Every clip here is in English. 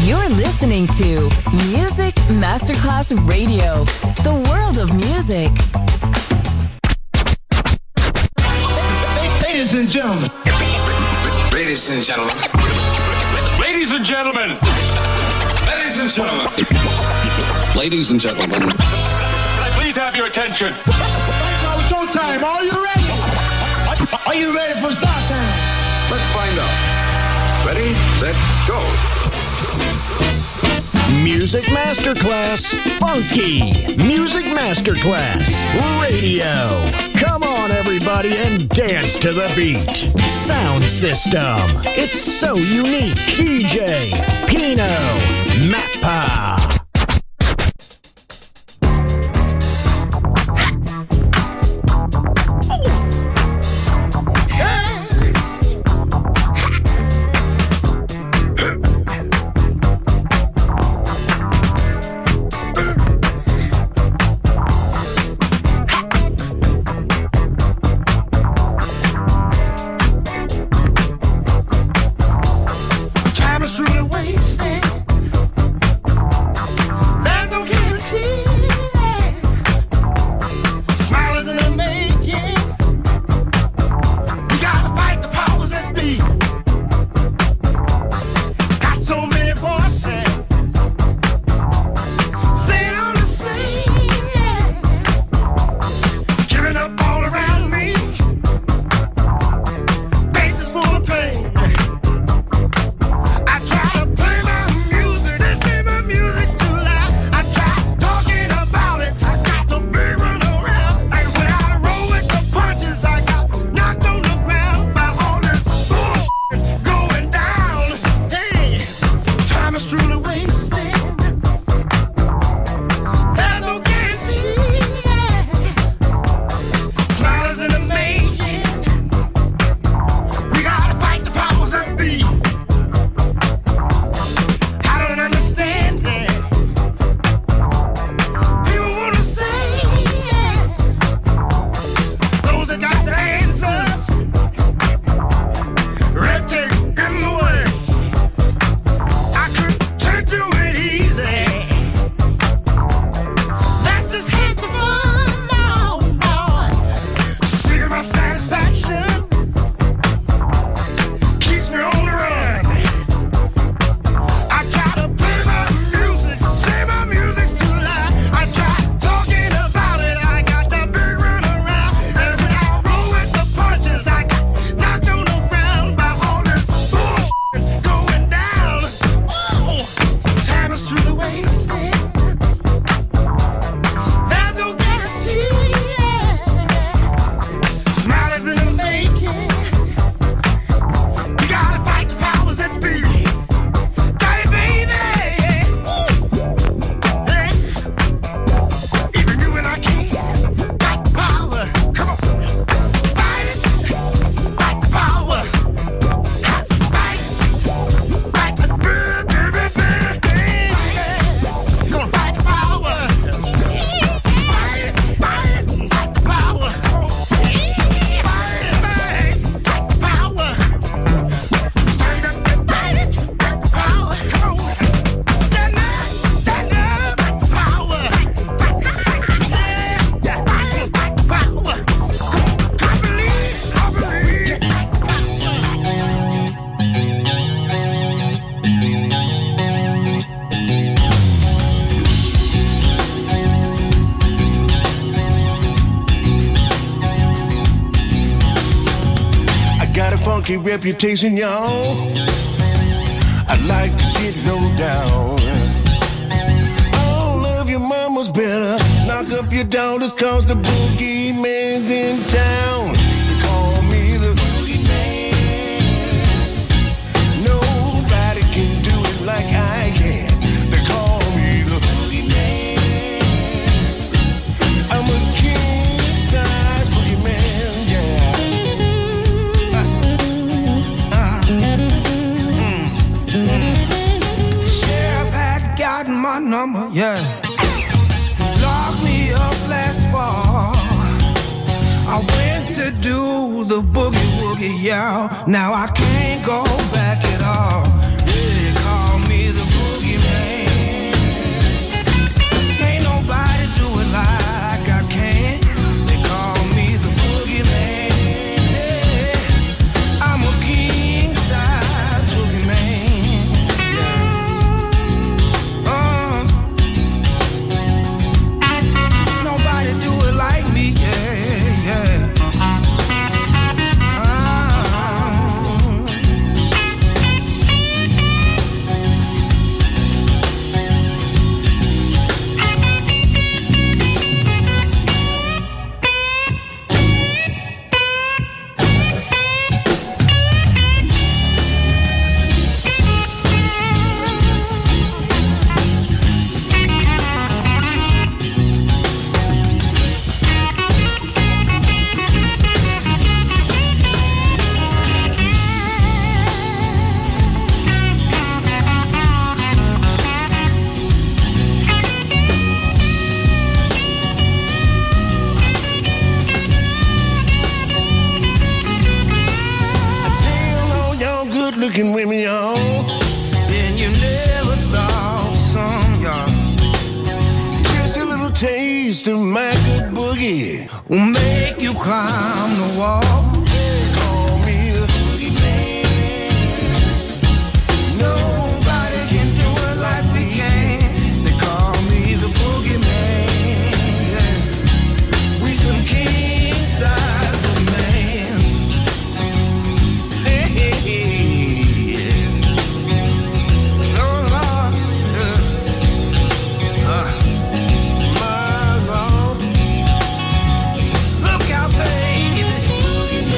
You're listening to Music Masterclass Radio, the world of music. Ladies and gentlemen. Ladies and gentlemen. Ladies and gentlemen. Ladies and gentlemen. Ladies and gentlemen. Please have your attention. Now showtime. Are you ready? Are you ready for start time? Let's find out. Ready, set, go. Music Masterclass Funky. Music Masterclass Radio. Come on, everybody, and dance to the beat. Sound system. It's so unique. DJ Pino Mappa. Reputation, y'all. I like to get low down. All of your mamas better knock up your daughters, cause the boogie man's in town. They call me the boogie man. Nobody can do it like I can. They call me the boogie man. I'm a king size boogie man, yeah. Sheriff had gotten my number, yeah. Locked me up last fall. I went to do the boogie woogie, yeah. Now I can't go back at all. Yeah, call me the boogie more than you never thought. Some y'all, just a little taste of my good boogie will make you climb the wall. Call me the boogie man. Nobody can do it like we can. They call me the boogie man. We some king size of man. Hey, hey, hey. Oh, Lord. My Lord. Look out, baby.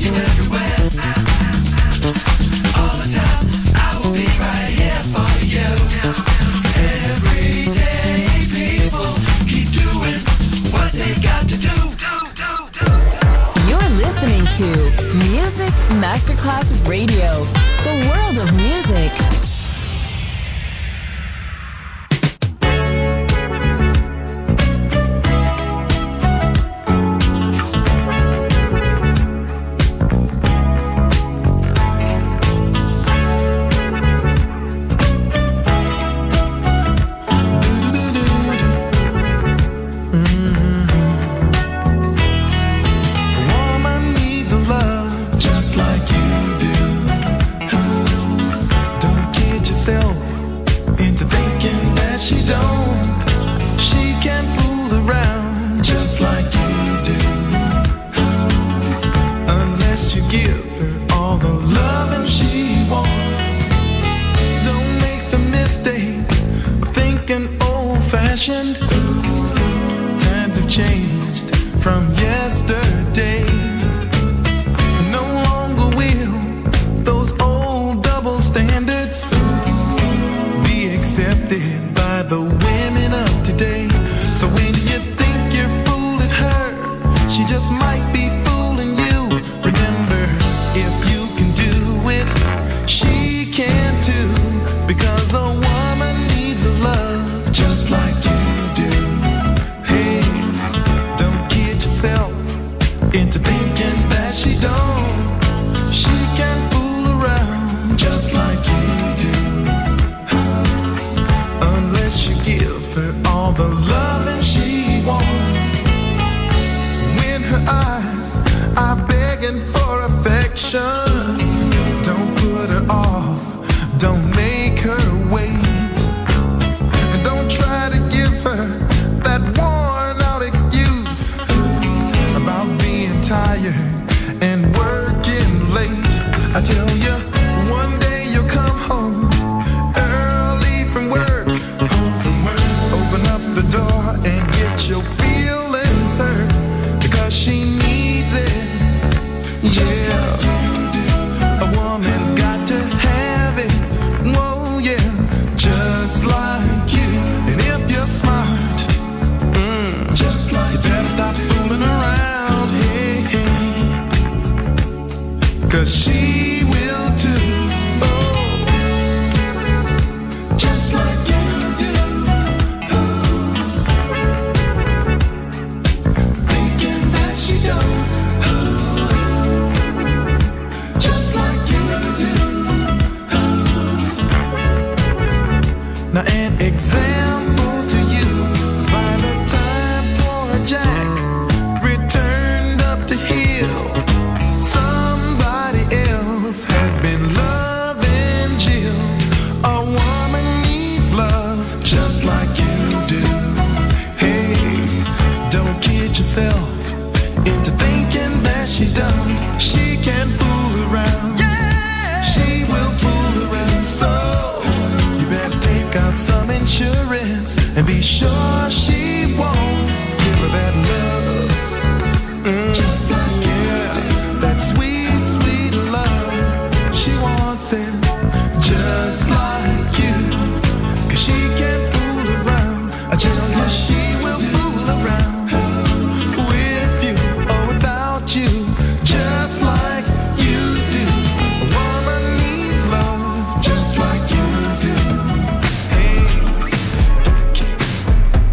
to Music Masterclass Radio, the world of music. Times have changed from yesterday. No longer will those old double standards be accepted by the women of today. So when you think you're fooling her, she just might be fooling you. Remember, if you can do it, she can too. Because a woman needs a love just like you. Into thinking that she don't, she can fool around just like you do. Unless you give her all the loving she wants. When her eyes are begging for affection, don't put her off, don't make her wait, and don't try to give her that worn out excuse about being tired and working late. I tell you, one day you'll come home early from work. Open up the door and get your feelings hurt, because she needs it. Just like you do. A woman's got to have it. Whoa, yeah, just like you. And if you're smart, just like you, better stop fooling around. Cause she will too. Oh, just like you do. Oh, thinking that she don't. Oh, just like you do. Oh. Now an example to you is by the time poor Jack returned up the hill, had been loving Jill. A woman needs love just like you do. Hey, don't kid yourself into thinking that she done. She can fool around. Yeah, she will fool around. So you better take out some insurance and be sure she won't give her that love. Just like you do. That sweet, sweet love. She wants it just like you. Cause she can't fool around. Just like she will fool around with you or without you. Just like you do. A woman needs love just like you do. Hey, don't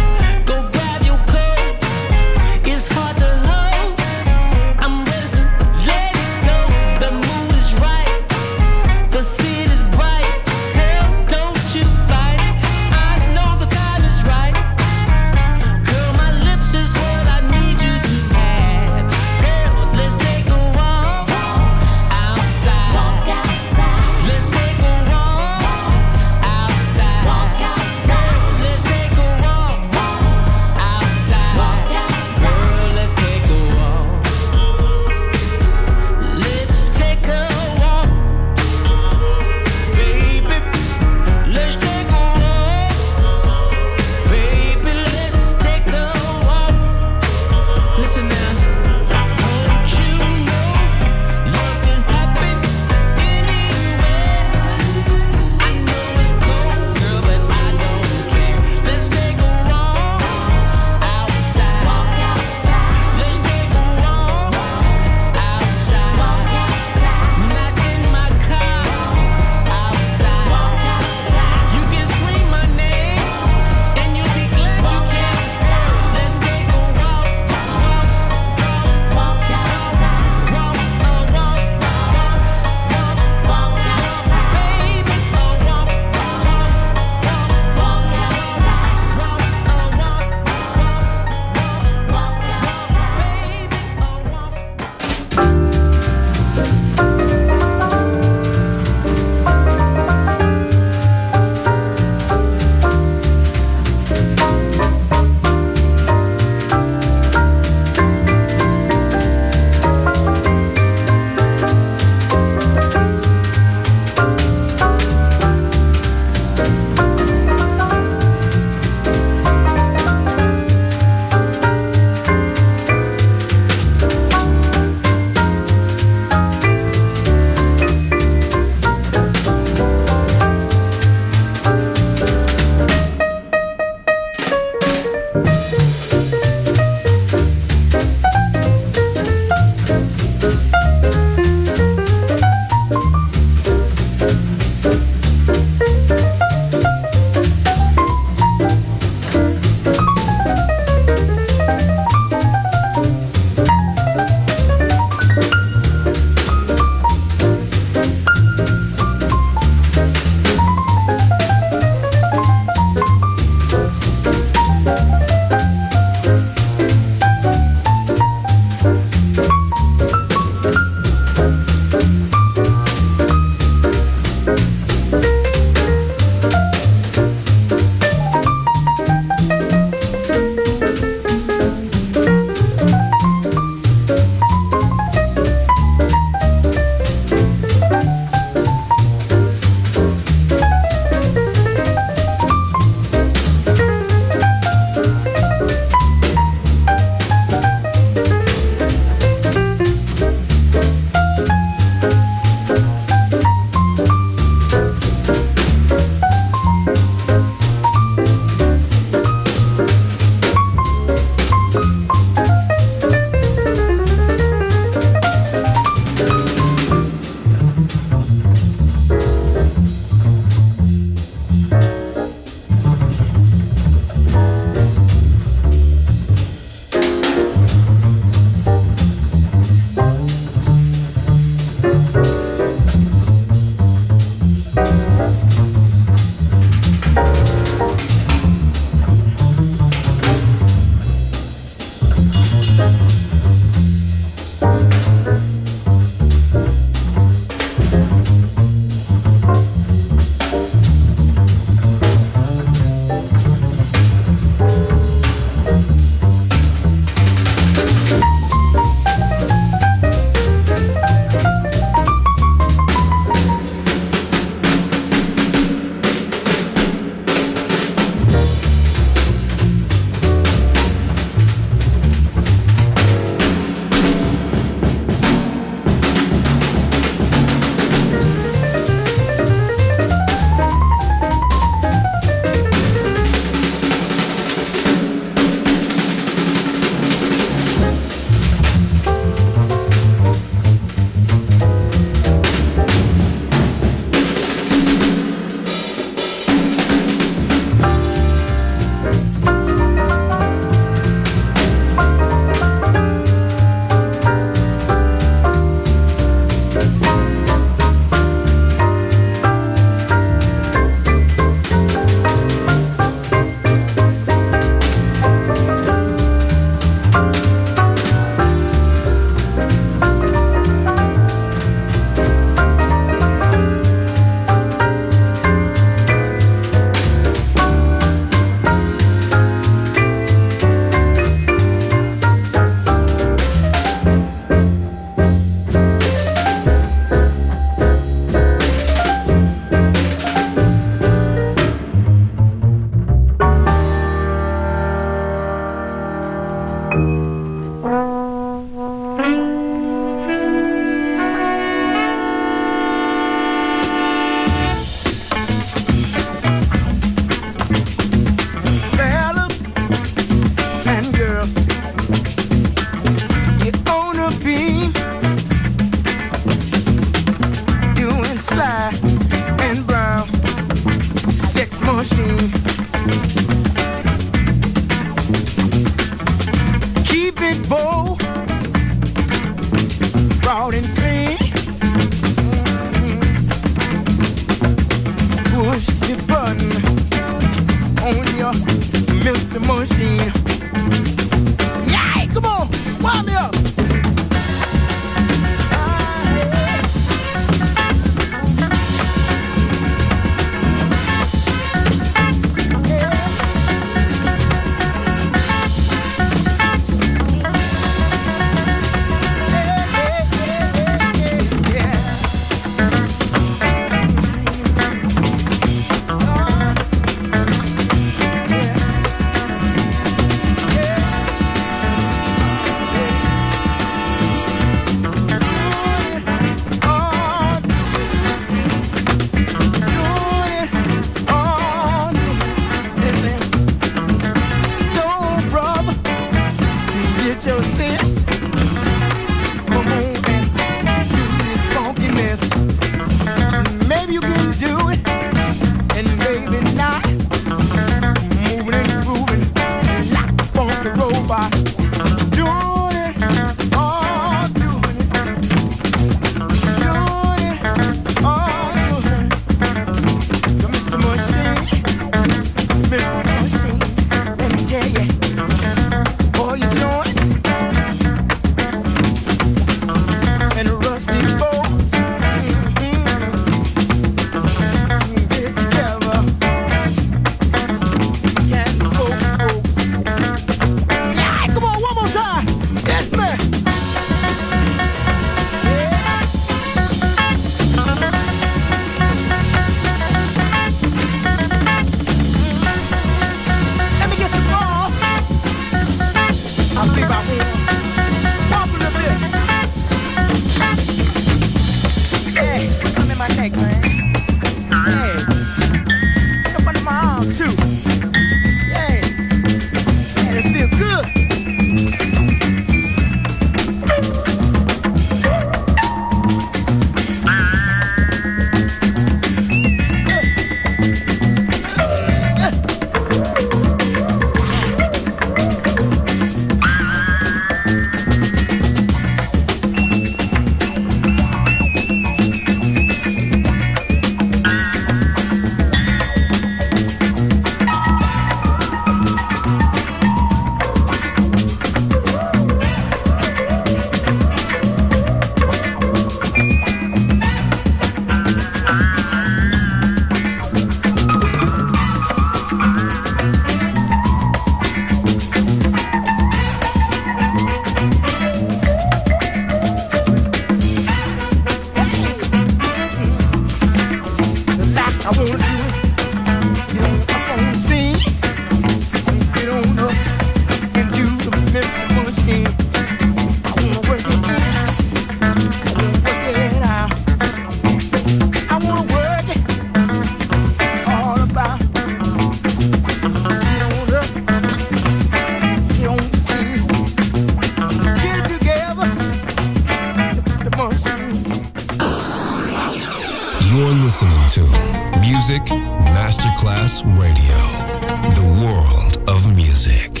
You're listening to Music Masterclass Radio, the world of music.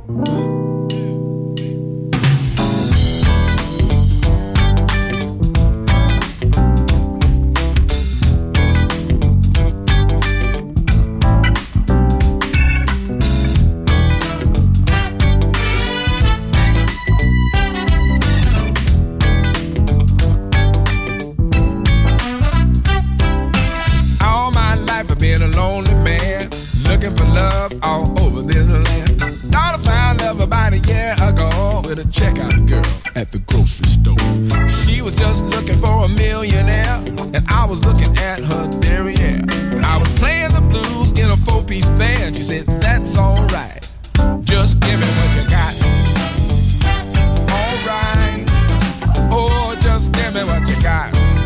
At the grocery store, she was just looking for a millionaire, and I was looking at her derriere. I was playing the blues in a 4-piece band. She said, "That's all right, just give me what you got." All right, oh, just give me what you got.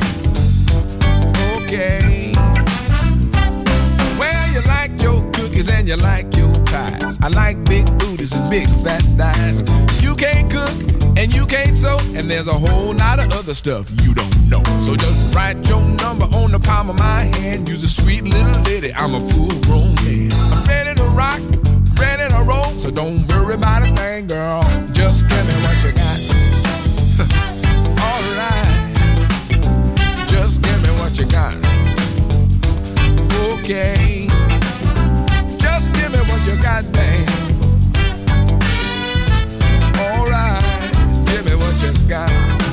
Okay. Well, you like your cookies and you like your pies. I like big booties and big fat thighs. You can't cook and you can't sew, and there's a whole lot of other stuff you don't know. So just write your number on the palm of my hand. You're a sweet little lady, I'm a full-grown man. I'm ready to rock, ready to roll, so don't worry about a thing, girl. Just give me what you got. All right, just give me what you got. Okay, just give me what you got, babe. All right, give me what you got.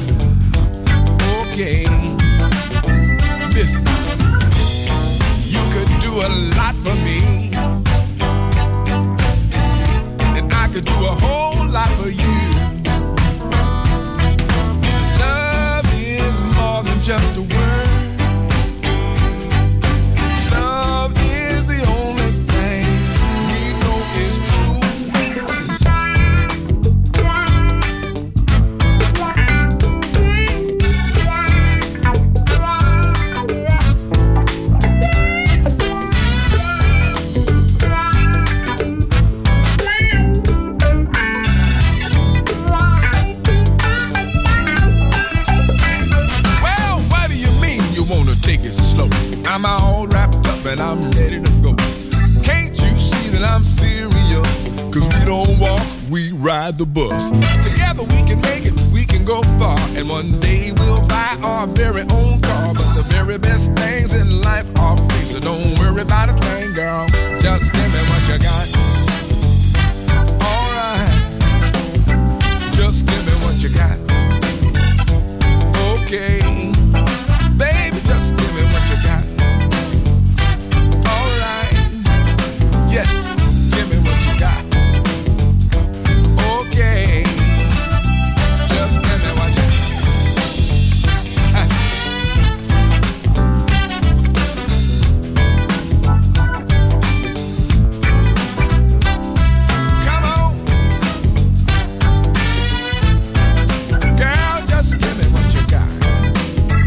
Okay, listen, you could do a lot for me, and I could do a whole lot for you. Love is more than just a word. Love is the only thing we know is true. I'm all wrapped up and I'm ready to go. Can't you see that I'm serious? Cause we don't walk, we ride the bus. Together we can make it, we can go far. And one day we'll buy our very own car. But the very best things in life are free. So don't worry about a thing, girl. Just give me what you got. Alright, just give me what you got. Okay, baby, just give me what you got. Yes, give me what you got. Okay, just give me what you got. Come on, girl, just give me what you got.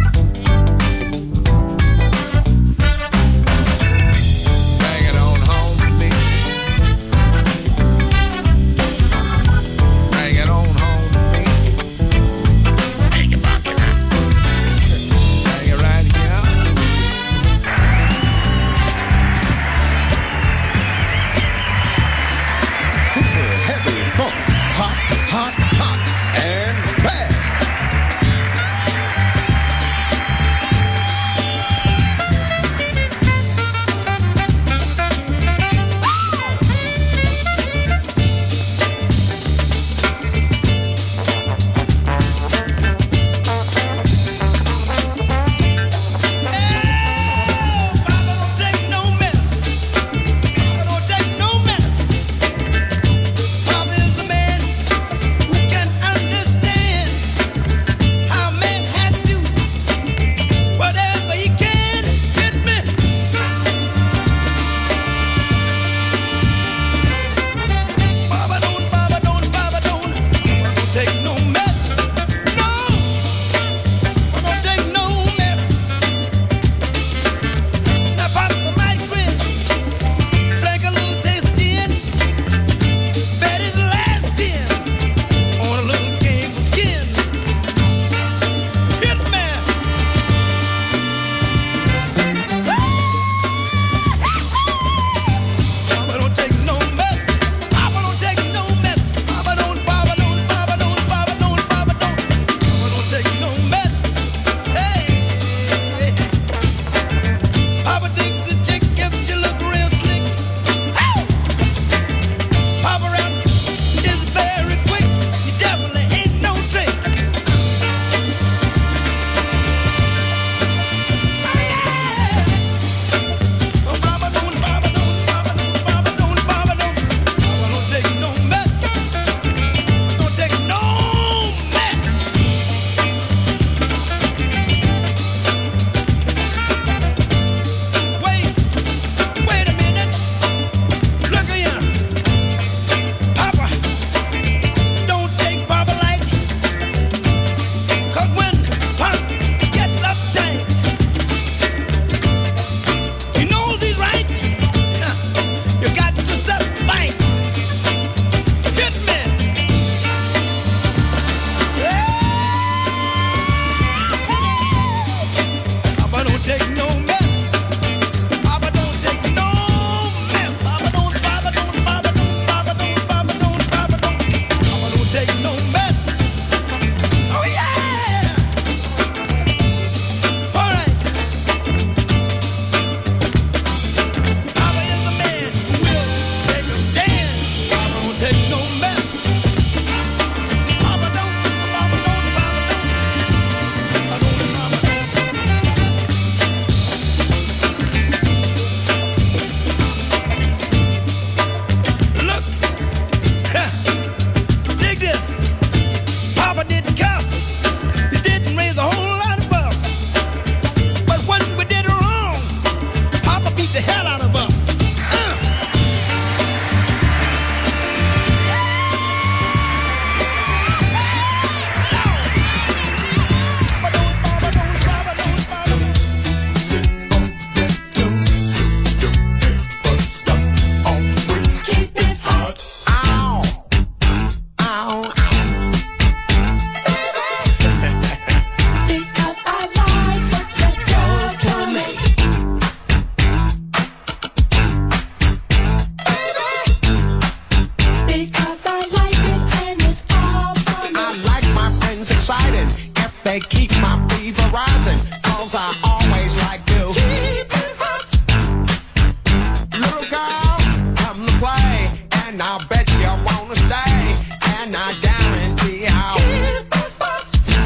fever rising, 'cause I always like to keep it hot. Little girl, come to play, and I'll bet you wanna stay, and I guarantee I'll keep the spot.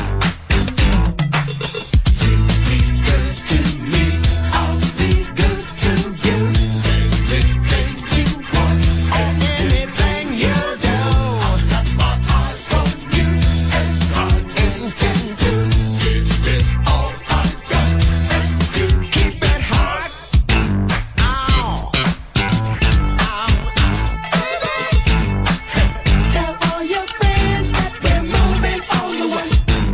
You be good to me, I'll be good to you. Anything you want, and anything you do, I've got my eyes on you, and I intend to give it all I got, and to keep it hot. Ow, ow, baby. Tell all your friends that we're moving on the way.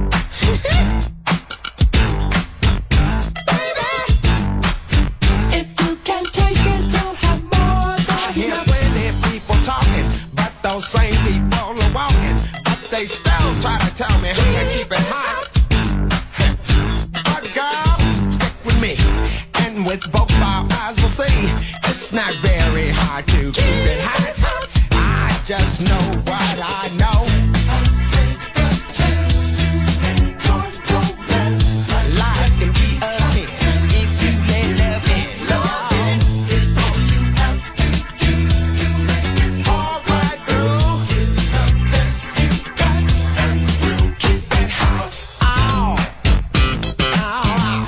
Baby, if you can take it, you'll have more than I hear plenty people talking, but those same people are walking, but they still try to tell me how to keep it hot. But girl, stick with me, and with both our eyes we'll see it's not very hard to keep it hot. I just know what I know. Let's take the chance to enjoy romance. Life can be a hit if you let love in. Love is all you have to do to make it all right through. It's the best you got, and we'll keep it hot. Ow, ow, ow.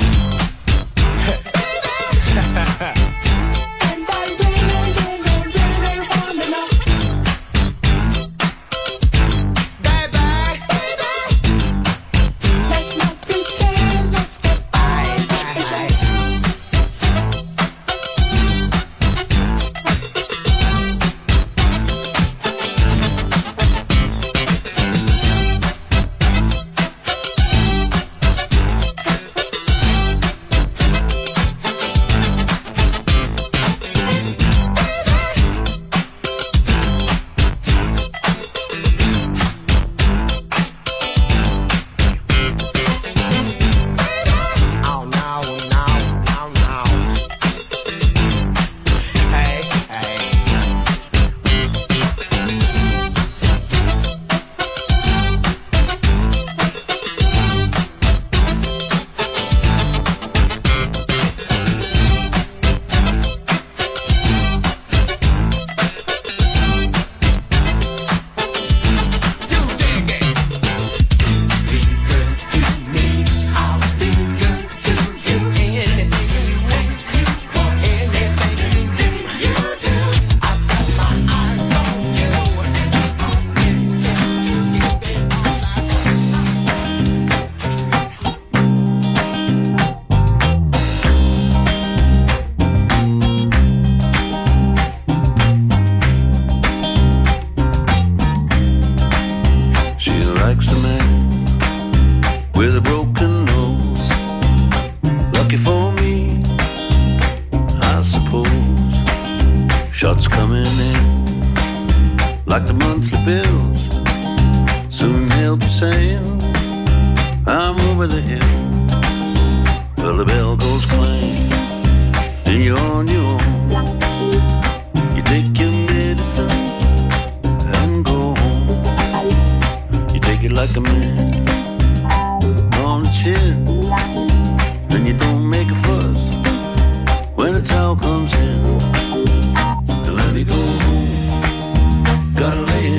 And I really, really, really wanna know, baby, let's not pretend, let's get by. Oh no, no, no, no. Hey, hey. You dig it. Be good to me, I'll be good to you. Anything you want, anything you do, I've got my eyes on you, and I intend to keep it all I She likes a man with a broken nose. Lucky for me, I suppose. Shots coming in like the monthly bills. Soon he'll be saying, I'm over the hill. Well, the bell goes clang, and you're on your own. You take your medicine and go home. You take it like a man on the chin. Then you don't make a fuss when the towel comes in. And let me go home. Gotta lay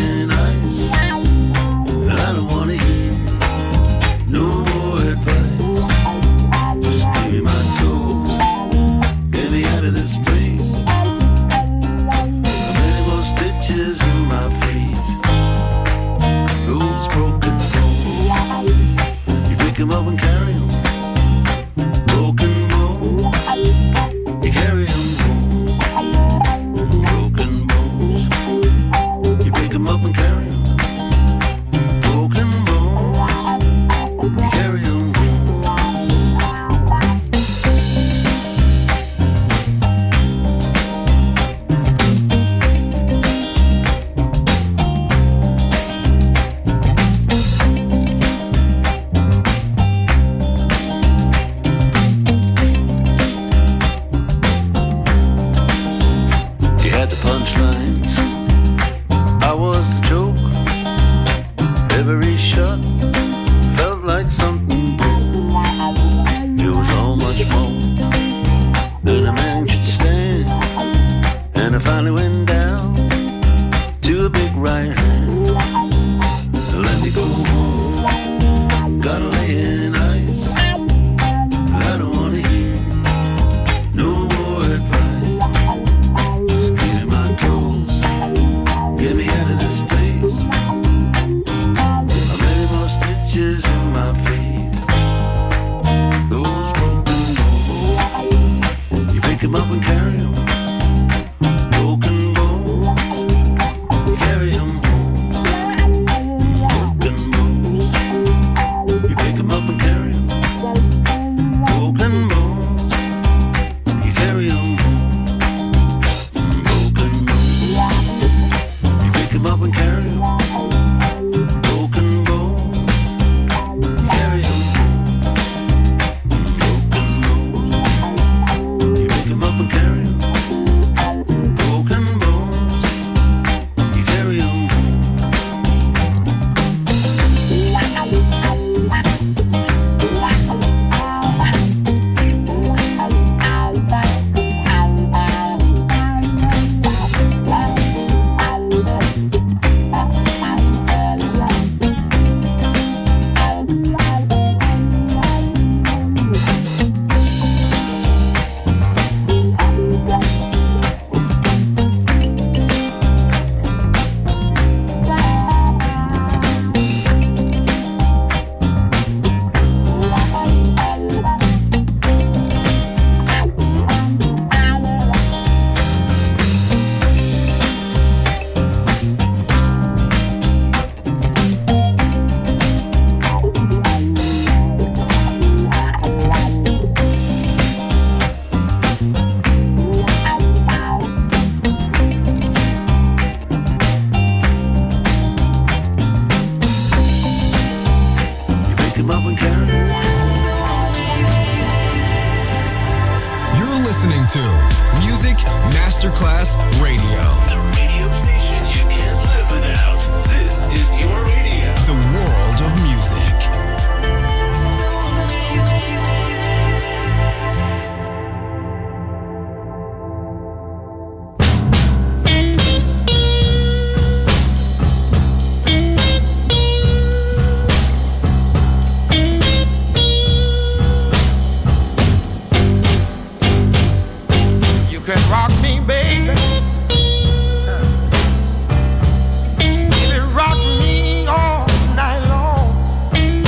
pick him up and carry him. Broken bones, you carry him home. Broken bones, you pick him up and carry him. Broken bones, you carry him home. Broken bones, you pick him up and carry him. Broken bones, you carry him home. Broken bones, you pick him up and carry him. Broken bones, you carry him home. Pick him up and carry him. You're listening to Music Masterclass Radio. The radio station you can't live without. This is your radio. The world of music. You can rock me, baby. Baby, rock me all night long.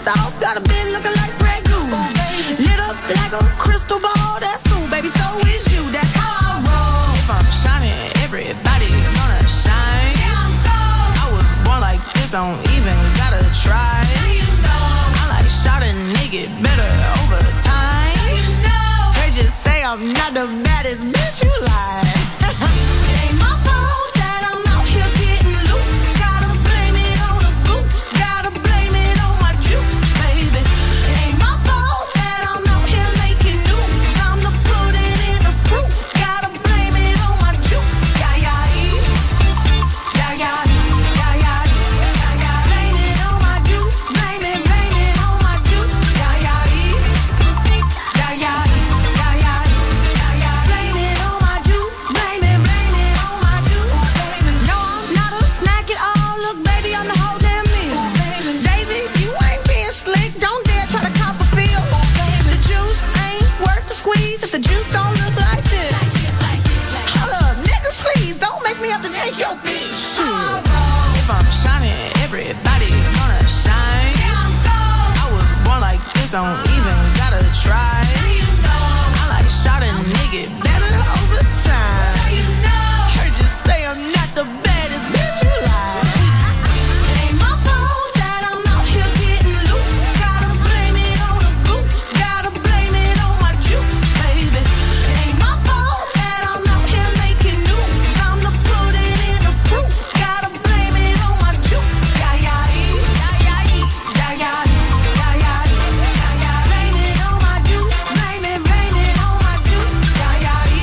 sauce. Got a bitch looking like Grey Goose. Lit up like a crystal ball. That's cool, baby, so is you. That's how I roll. If I'm shining, everybody gonna shine. I was born like this, don't even gotta try. I like shot a nigga better over time. They just say I'm not the baddest bitch you like. Ain't my fault that I'm out here getting loose. Gotta blame it on the goose. Gotta blame it on my juice, baby. Ain't my fault that I'm out here making news. I'm the pudding in the proof. Gotta blame it on my juice. Yeah, yeah, yeah, yeah, yeah, yeah, yeah. Blame it on my juice. Blame it on my juice. Yeah, yeah, yeah, yeah, yeah, yeah, yeah. Blame it on my juice. Blame it on my juice. No, I'm not a snack at all. Look, baby, I'm the whole damn meal. David, you ain't being slick. Don't dare try to cop a feel. The juice ain't worth the squeeze if the juice don't look like this. Hold up, nigga, please don't make me have to take your bitch. Shit. If I'm shining, everybody gonna shine. I was born like this, don't even gotta try. I like shot a nigga better over time. Heard you say I'm not the baddest bitch you like. Ain't my fault that I'm out here getting loose. Gotta blame it on the goose. Gotta blame it on my juice, baby. Ain't my fault that I'm out here making news. I'm the pudding in the proof. Gotta blame it on my juice. Yeah, yeah, yeah, yeah, yeah, yeah, yeah, yeah, yeah. Blame it on my juice. Blame it on my juice. Yeah, yeah,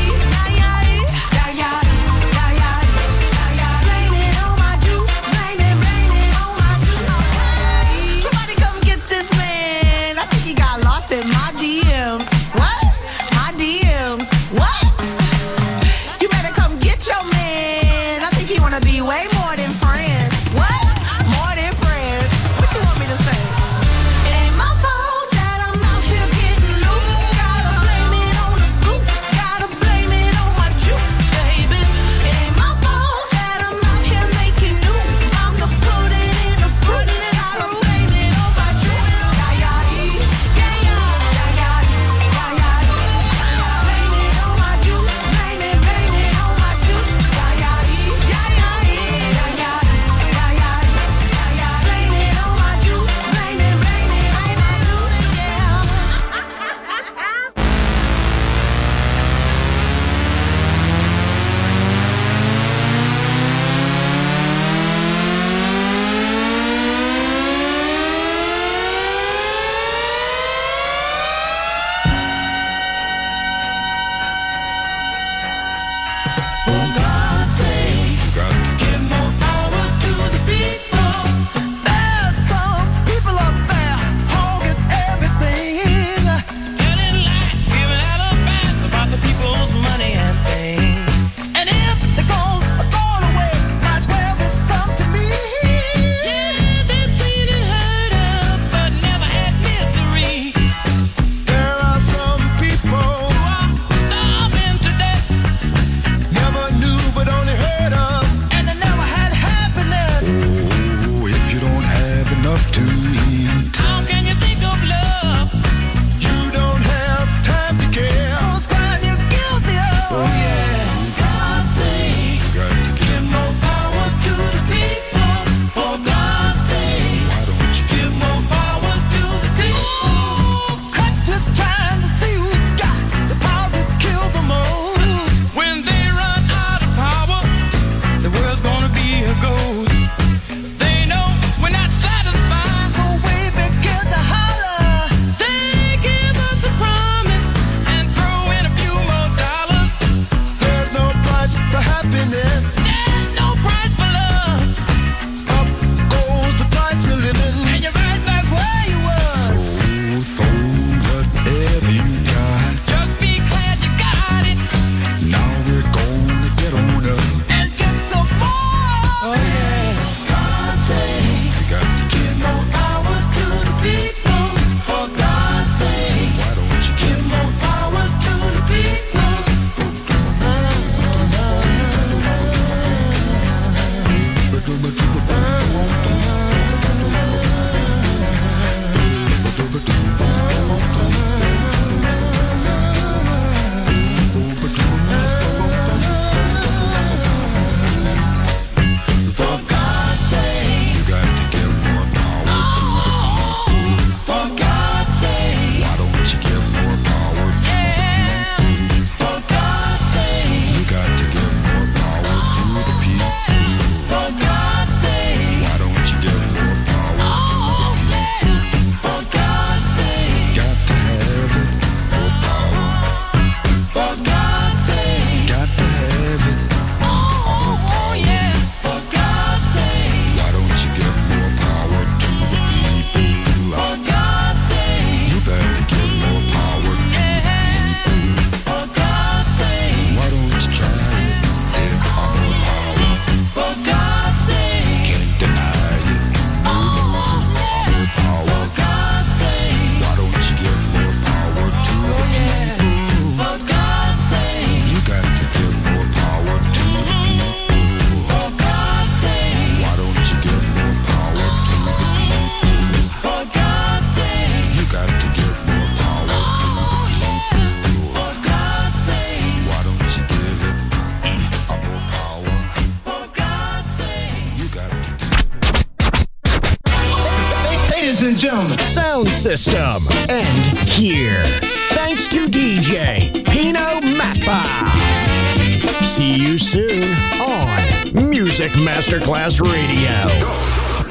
ladies and gentlemen. Sound system. And here. Thanks to DJ Pino Mappa. See you soon on Music Masterclass Radio.